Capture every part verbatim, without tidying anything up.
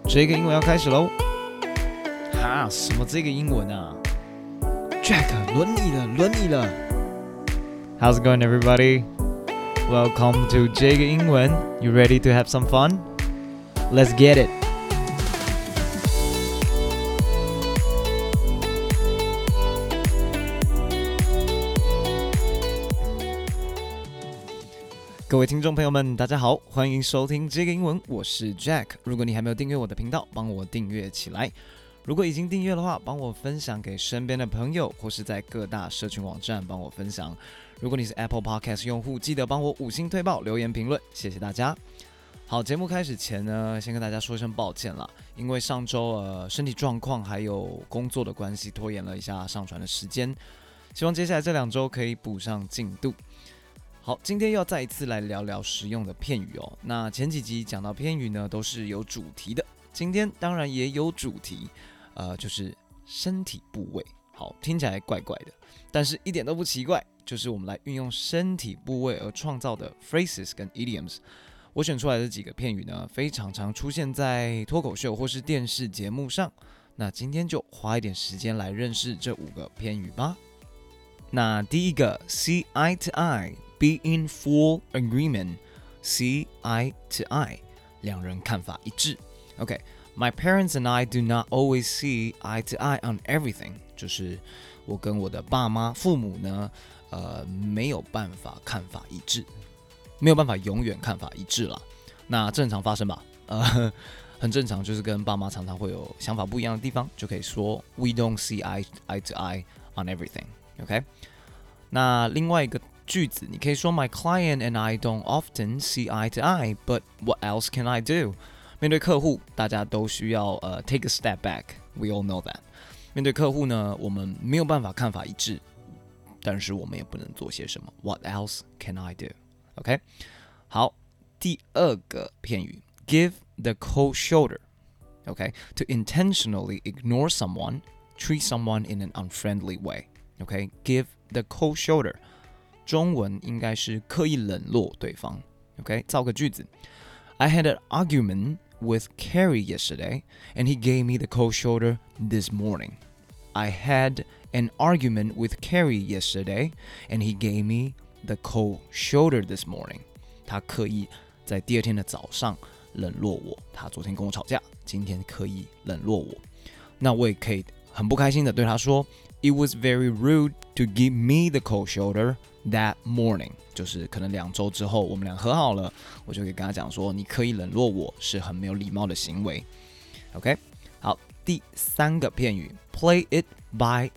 這個英文要開始嘍！哈，什麼這個英文啊 ？Jack， 輪你了，輪你了。How's it going, everybody? Welcome to 這個英文。You ready to have some fun? Let's get it. 各位聽眾朋友們，大家好，歡迎收聽這個英文，我是 Jack。如果你還沒有訂閱我的頻道，幫我訂閱起來。如果已經訂閱的話，幫我分享給身邊的朋友，或是在各大社群網站幫我分享。如果你是 Apple Podcast 用戶，記得幫我五星推爆、留言評論，謝謝大家。好，節目開始前呢，先跟大家說一聲抱歉啦，因為上周呃身體狀況還有工作的關係，拖延了一下上傳的時間。希望接下來這兩周可以補上進度。好，今天又要再一次來聊聊實用的片語哦。那前幾集講到片語呢，都是有主題的，今天當然也有主題，呃，就是身體部位。好，聽起來怪怪的，但是一點都不奇怪，就是我們來運用身體部位而創造的 phrases 跟 idioms。我選出來的幾個片語呢，非常常出現在脫口秀或是電視節目上。那今天就花一點時間來認識這五個片語吧。那第一個 see eye to eye。Be in full agreement, see eye to eye， 兩人看法一致。Okay, my parents and I do not always see eye to eye on everything， 就是我跟我的爸媽、父母呢，呃，沒有辦法看法一致，沒有辦法永遠看法一致啦。那正常發生吧，呃，很正常，就是跟爸媽常常會有想法不一樣的地方，就可以說 We don't see eye eye to eye on everything。Okay， 那另外一個句子，你可以說 My client and I don't often see eye to eye, but what else can I do? 面對客戶，大家都需要呃、uh, take a step back. We all know that. 面對客戶呢，我們沒有辦法看法一致，但是我們也不能做些什麼。What else can I do? OK， 好，第二個片語 give the cold shoulder. OK, to intentionally ignore someone, treat someone in an unfriendly way. OK, give the cold shoulder.中文應該是刻意冷落對方 OK， 造個句子 I had an argument with Carrie yesterday and he gave me the cold shoulder this morning. I had an argument with Carrie yesterday and he gave me the cold shoulder this morning. 他刻意在第二天的早上冷落我，他昨天跟我吵架，今天刻意冷落我。那我也可以很不開心的對他說 It was very rude to give me the cold shoulder.That morning， 就是可能兩周之後我們倆和好了，我就可以跟他講說，你刻意冷落我是很沒有禮貌的行為。OK， 好，第三個片語 ，play it by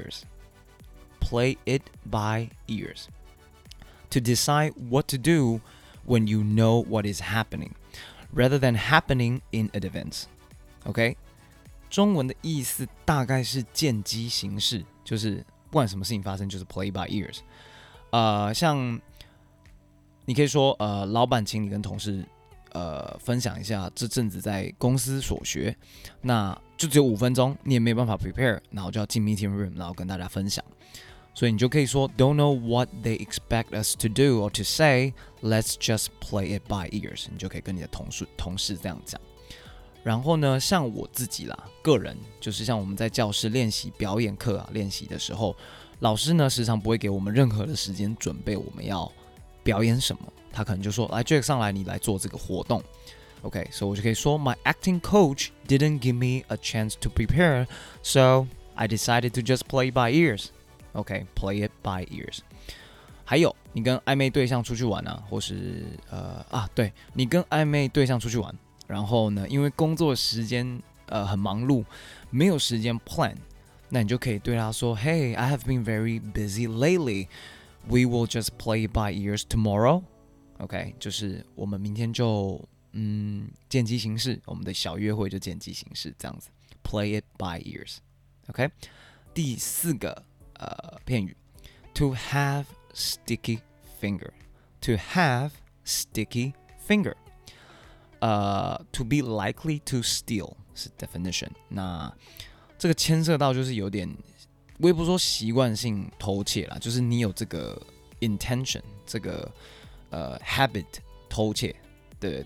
ears。Play it by ears. To decide what to do when you know what is happening, rather than happening in advance。OK， 中文的意思大概是見機行事，就是不管什麼事情發生，就是 play by ears。呃，像你可以說，呃，老闆請你跟同事，呃，分享一下這陣子在公司所學，那就只有五分鐘，你也沒有辦法 prepare， 然後就要進 meeting room， 然後跟大家分享，所以你就可以說 ，Don't know what they expect us to do or to say, let's just play it by ears。你就可以跟你的同事同事這樣講。然後呢，像我自己啦，個人就是像我們在教室練習表演課啊，練習的時候。老師呢，時常不會給我們任何的時間準備我們要表演什麼，他可能就說：“來 ，Jack 上來，你來做這個活動。” OK， 所以我就可以說 ：“My acting coach didn't give me a chance to prepare, so I decided to just play by ears.” OK，play it by ears。還有，你跟曖昧對象出去玩啊，或是呃啊，對你跟曖昧對象出去玩，然後呢，因為工作時間呃很忙碌，沒有時間 plan。那你就可以對他說 Hey, I have been very busy lately. We will just play by ears tomorrow. OK, 就是我們明天就嗯見機行事，我們的小約會就見機行事這樣子 Play it by ears. OK, 第四個呃片語 To have sticky finger. To have sticky finger. 呃 To be likely to steal 是 definition. 那這個牽涉到就是有點，我也不說習慣性偷竊啦，就是你有這個 intention， 這個呃 habit 偷竊，對對對，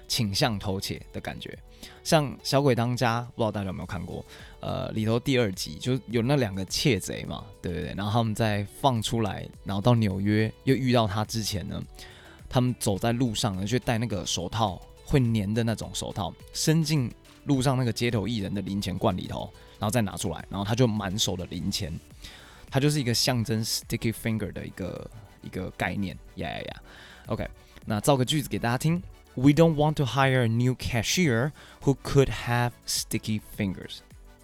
傾向偷竊的感覺。像《小鬼當家》，不知道大家有沒有看過？呃，裡頭第二集就有那兩個竊賊嘛，對對對。然後他們在放出來，然後到紐約又遇到他之前呢，他們走在路上呢，就戴那個手套會粘的那種手套，伸進路上那個街頭藝人的零錢罐裡頭，然後再拿出來，然後他就滿手的零錢，它就是一個象徵 sticky finger 的一個一個概念，呀呀呀。OK， 那造個句子給大家聽。We don't want to hire a new cashier who could have sticky fingers.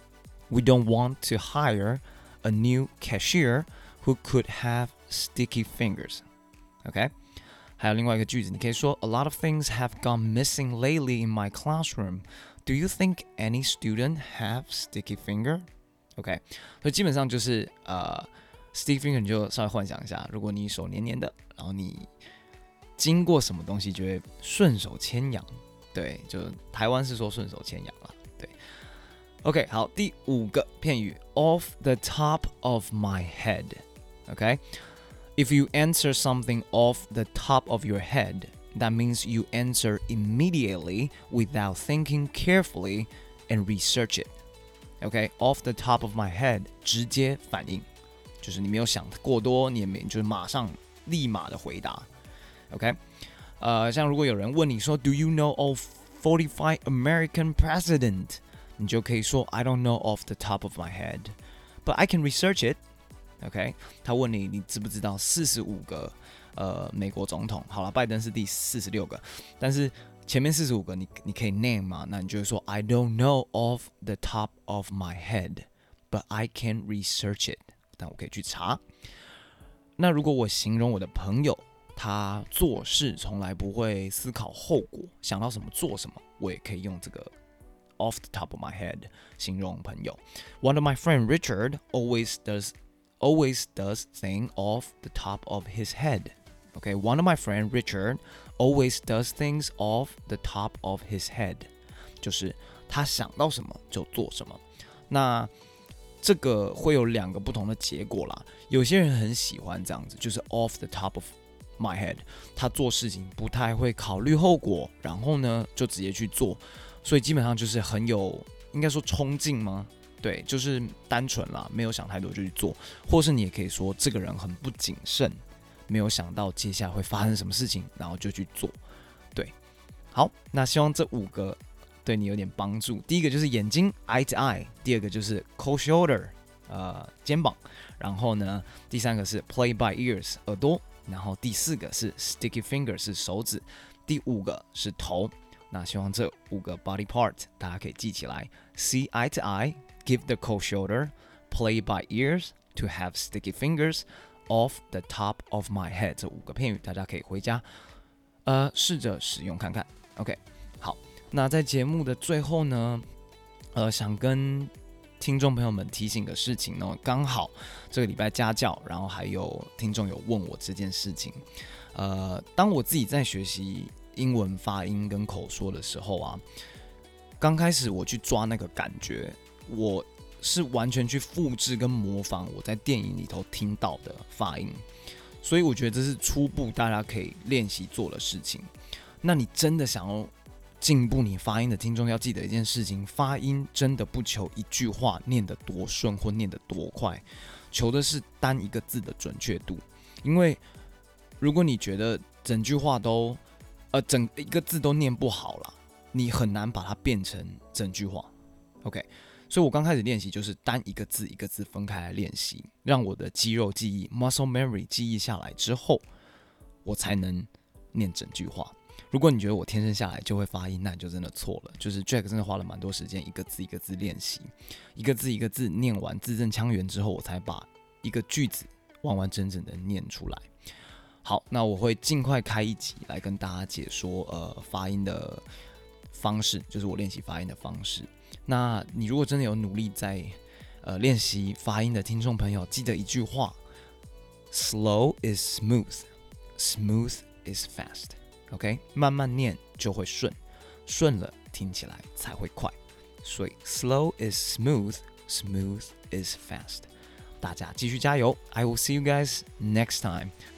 We don't want to hire a new cashier who could have sticky fingers. OK， 還有另外一個句子，你可以說 A lot of things have gone missing lately in my classroom. Do you think any student have sticky finger? OK， 所以基本上就是呃 sticky finger 你就稍微幻想一下，如果你手黏黏的，然後你經過什麼東西就會順手牽羊，對，就台灣是說順手牽羊啦，對。OK， 好，第五個片語 off the top of my head。OK， if you answer something off the top of your head, that means you answer immediately without thinking carefully and research it. OK， off the top of my head， 直接反應，就是你沒有想過多，你也沒就是馬上立馬的回答。OK， 呃，像如果有人問你說 Do you know of forty-five American president？ 你就可以說 I don't know off the top of my head, but I can research it. OK， 他問你你知不知道四十五個呃美國總統？好了，拜登是第四十六個，但是前面四十五個你你可以 name 嘛？那你就會說 I don't know off the top of my head, but I can research it. 但我可以去查。那如果我形容我的朋友，他做事從來不會思考後果，想到什麼做什麼，我也可以用這個 off the top of my head 形容朋友。One of my friend Richard always does always does things off the top of his head. Okay, one of my friend Richard always does things off the top of his head. 就是他想到什麼就做什麼。那這個會有兩個不同的結果啦。有些人很喜歡這樣子，就是 off the top of my head， 他做事情不太會考慮後果，然後呢就直接去做，所以基本上就是很有應該說衝勁嗎？對，就是單純啦，沒有想太多就去做，或是你也可以說這個人很不謹慎，沒有想到接下來會發生什麼事情，然後就去做。對，好，那希望這五個對你有點幫助。第一個就是眼睛 eye to eye， 第二個就是 cold shoulder， 呃肩膀，然後呢第三個是 play by ears 耳朵。然後第四個是 sticky finger 是手指，第五個是頭。那希望這五個 body part 大家可以記起來 ：see eye to eye, give the cold shoulder, play by ears, to have sticky fingers, off the top of my head。這五個片語大家可以回家呃試着使用看看。OK， 好，那在節目的最後呢，呃，想跟聽眾朋友們提醒個事情呢，剛好這個禮拜家教，然後還有聽眾有問我這件事情。呃，當我自己在學習英文發音跟口說的時候啊，剛開始我去抓那個感覺，我是完全去複製跟模仿我在電影裡頭聽到的發音，所以我覺得這是初步大家可以練習做的事情。那你真的想要進步你發音的聽眾要記得一件事情，發音真的不求一句話念得多順或念得多快，求的是單一個字的準確度。因為如果你覺得整句話都呃整一個字都念不好啦，你很難把它變成整句話。OK， 所以我剛開始練習就是單一個字一個字分開來練習，讓我的肌肉記憶 muscle memory 記憶下來之後，我才能念整句話。如果你覺得我天生下來就會發音，那你就真的錯了。就是 Jack 真的花了蠻多時間，一個字一個字練習，一個字一個字念完字正腔圓之後，我才把一個句子完完整整的念出來。好，那我會盡快開一集來跟大家解說呃發音的方式，就是我練習發音的方式。那你如果真的有努力在呃練習發音的聽眾朋友，記得一句話 ：Slow is smooth, smooth is fast。OK， 慢慢念就會順，順了聽起來才會快。所以 slow is smooth, smooth is fast。大家繼續加油 ！I will see you guys next time.